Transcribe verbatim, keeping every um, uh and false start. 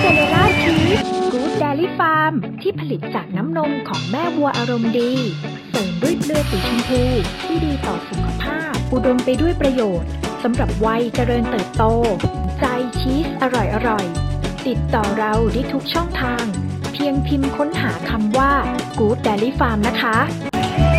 เซเลล่าชีสกู๊ดเดลี่ฟาร์มที่ผลิตจากน้ำนมของแม่วัวอารมณ์ดีเสริมด้วยเกลือสีชมพูที่ดีต่อสุขภาพอุดมไปด้วยประโยชน์สำหรับวัยเจริญเติบโตใจชีสอร่อยๆติดต่อเราได้ทุกช่องทางเพียงพิมพ์ค้นหาคำว่า Good Dairy Farm นะคะ